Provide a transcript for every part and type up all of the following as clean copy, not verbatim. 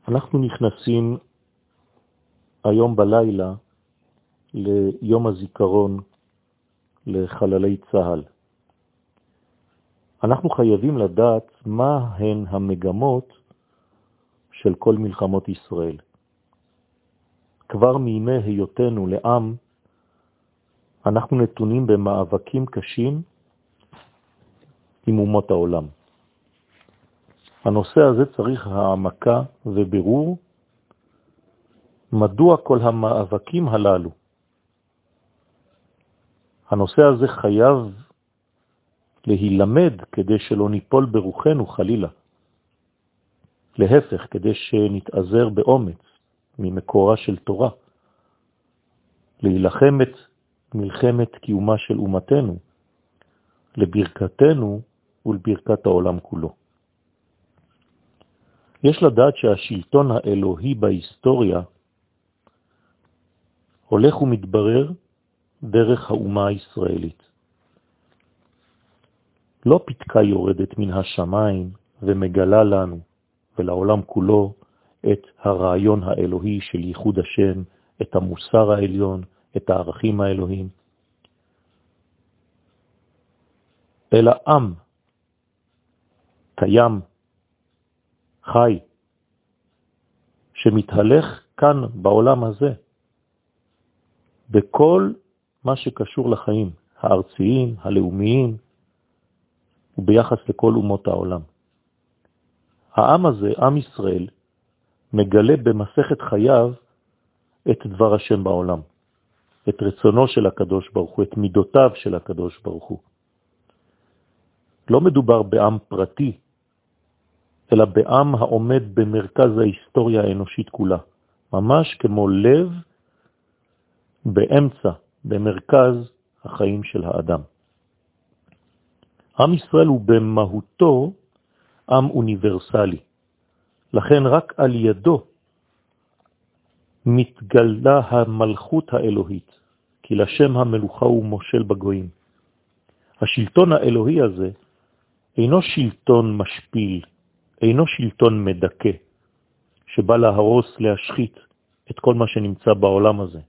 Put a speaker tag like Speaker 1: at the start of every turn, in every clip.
Speaker 1: אנחנו נכנסים היום בלילה ליום הזיכרון לחללי צה"ל. אנחנו חייבים לדעת מה הן המגמות של כל מלחמות ישראל. כבר מימי היותנו לעם, אנחנו נתונים במאבקים קשים עם אומות העולם. הנושא הזה צריך העמקה ובירור מדוע כל המאבקים הללו. הנושא הזה חייב להילמד כדי שלא ניפול ברוחנו חלילה. להפך, כדי שנתעזר באומץ ממקורה של תורה, להילחם את מלחמת קיומה של אומתנו, לברכתנו ולברכת העולם כולו. יש לדעת שהשלטון האלוהי בהיסטוריה הולך ומתברר דרך האומה הישראלית. לא פתקה יורדת מן השמיים ומגלה לנו ולעולם כולו את הרעיון האלוהי של ייחוד השם, את המוסר העליון, את הערכים האלוהים. אלא עם קיים, חי, שמתהלך כאן בעולם הזה, בכל מה שקשור לחיים, הארציים, הלאומיים, וביחס לכל אומות העולם. העם הזה, עם ישראל, מגלה במסכת חייו את דבר השם בעולם, את רצונו של הקדוש ברוך הוא, את מידותיו של הקדוש ברוך הוא. לא מדובר בעם פרטי, אלא בעם העומד במרכז ההיסטוריה האנושית כולה, ממש כמו לב באמצע, במרכז החיים של האדם. עם ישראל הוא במהותו עם אוניברסלי, לכן רק על ידו מתגלה המלכות האלוהית, כי לשם המלוכה הוא מושל בגויים. השלטון האלוהי הזה אינו שלטון משפיל, אינו שלטון מדכא, שבא להרוס, להשחית את כל מה שנמצא בעולם הזה.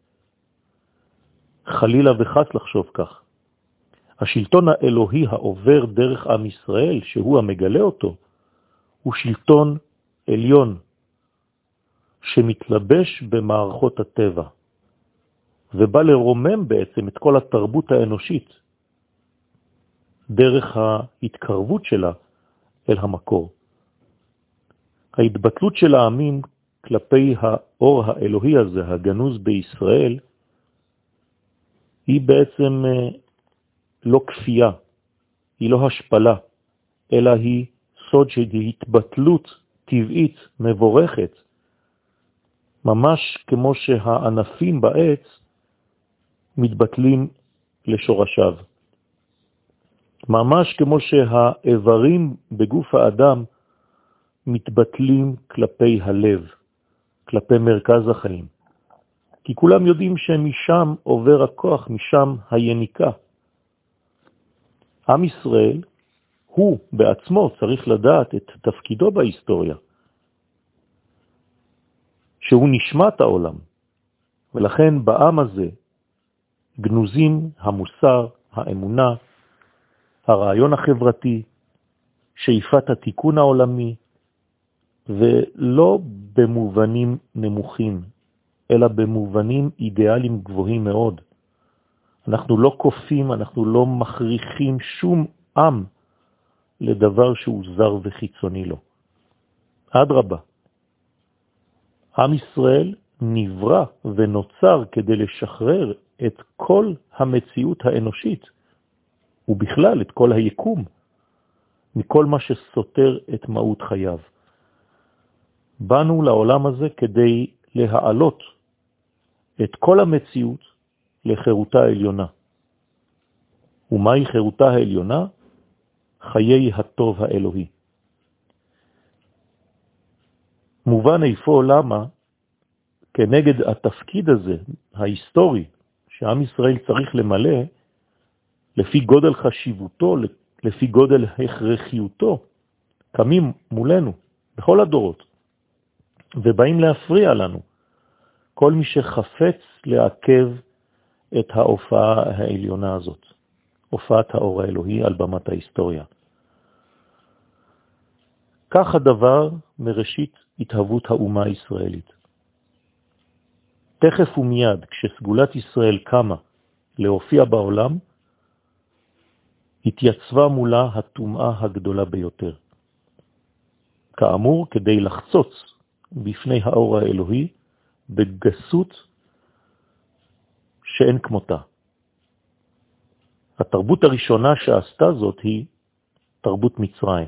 Speaker 1: חלילה וחס לחשוב כך. השלטון האלוהי העובר דרך עם ישראל, שהוא המגלה אותו, הוא שלטון עליון, שמתלבש במערכות הטבע, ובא לרומם בעצם את כל התרבות האנושית, דרך ההתקרבות שלה אל המקור. ההתבטלות של העמים כלפי האור האלוהי הזה, הגנוז בישראל, היא בעצם לא כפייה, היא לא השפלה, אלא היא סוד של התבטלות טבעית מבורכת, ממש כמו שהענפים בעץ מתבטלים לשורשיו. ממש כמו שהאיברים בגוף האדם מתבטלים כלפי הלב, כלפי מרכז החיים. כי כולם יודעים שמשם עובר הכוח, משם היניקה. עם ישראל, הוא בעצמו צריך לדעת את תפקידו בהיסטוריה, שהוא נשמת העולם, ולכן בעם הזה גנוזים המוסר, האמונה, הרעיון החברתי, שאיפת התיקון העולמי, ולא במובנים נמוכים, אלא במובנים אידיאליים גבוהים מאוד. אנחנו לא כופים, אנחנו לא מכריחים שום עם לדבר שהוא זר וחיצוני לו. אדרבה, עם ישראל נברא ונוצר כדי לשחרר את כל המציאות האנושית, ובכלל את כל היקום, מכל מה שסותר את מהות חייו. באנו לעולם הזה כדי להעלות את כל המציאות לחירותה העליונה. ומהי חירותה העליונה? חיי הטוב האלוהי. מובן איפה למה כנגד התפקיד הזה, ההיסטורי, שעם ישראל צריך למלא, לפי גודל חשיבותו, לפי גודל הכרחיותו, קמים מולנו בכל הדורות ובאים להפריע לנו. כל מי שחפץ לעכב את ההופעה העליונה הזאת, הופעת האור האלוהי על במת ההיסטוריה. כך הדבר מראשית התהוות האומה הישראלית. תכף ומיד, כשסגולת ישראל קמה להופיע בעולם, התייצבה מולה הטומאה הגדולה ביותר. כאמור, כדי לחצוץ בפני האור האלוהי בגסות שאין כמותה. התרבות הראשונה שעשתה זאת היא תרבות מצרים.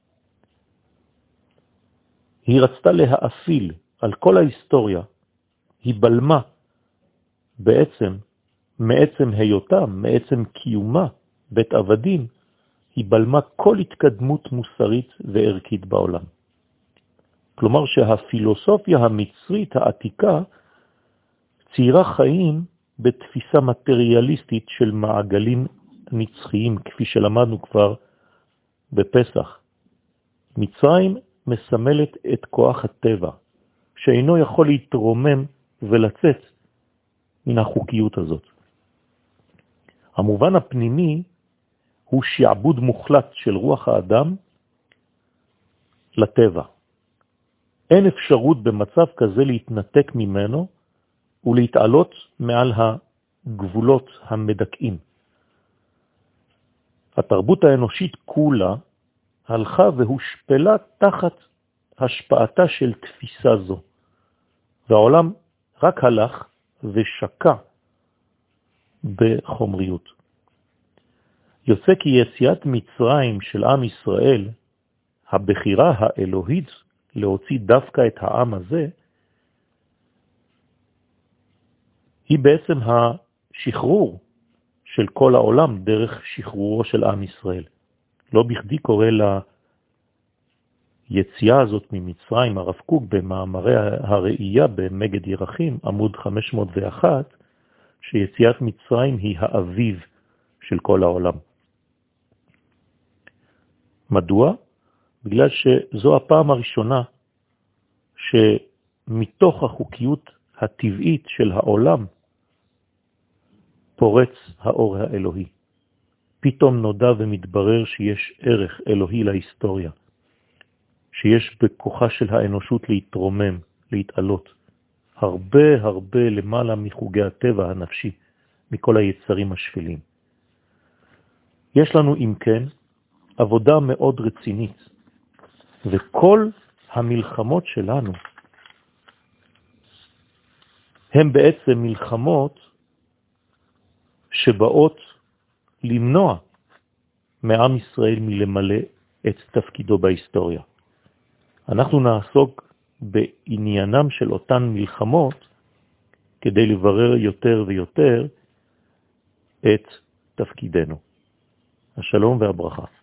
Speaker 1: היא רצתה להאפיל על כל ההיסטוריה, היא בלמה בעצם, מעצם היותה, מעצם קיומה, בית עבדים, היא בלמה כל התקדמות מוסרית וערכית בעולם. כלומר שהפילוסופיה המצרית העתיקה ציירה חיים בתפיסה מטריאליסטית של מעגלים נצחיים, כפי שלמדנו כבר בפסח. מצרים מסמלת את כוח הטבע, שאינו יכול להתרומם ולצאת מן החוקיות הזאת. המובן הפנימי הוא שעבוד מוחלט של רוח האדם לטבע. אין אפשרות במצב כזה להתנתק ממנו ולהתעלות מעל הגבולות המדכאים. התרבות האנושית כולה הלכה והושפלה תחת השפעתה של תפיסה זו. והעולם רק הלך ושקע בחומריות. יוצא כי יציאת מצרים של עם ישראל, הבחירה האלוהית להוציא דווקא את העם הזה, היא בעצם השחרור של כל העולם דרך שחרורו של עם ישראל. לא בכדי קורא ליציאה הזאת ממצרים הרב קוק במאמרי הראייה במגד ירחים, עמוד 501, שיציאת מצרים היא האביב של כל העולם. מדוע? בגלל שזו הפעם הראשונה שמתוך החוקיות הטבעית של העולם פורץ האור האלוהי. פתאום נודע ומתברר שיש ערך אלוהי להיסטוריה, שיש בכוחה של האנושות להתרומם, להתעלות, הרבה למעלה מחוגי הטבע הנפשי, מכל היצרים השפלים. יש לנו אם כן עבודה מאוד רצינית, וכל המלחמות שלנו הם בעצם מלחמות שבאות למנוע מעם ישראל מלמלא את תפקידו בהיסטוריה. אנחנו נעסוק בעניינם של אותן מלחמות כדי לברר יותר ויותר את תפקידנו. השלום והברכה.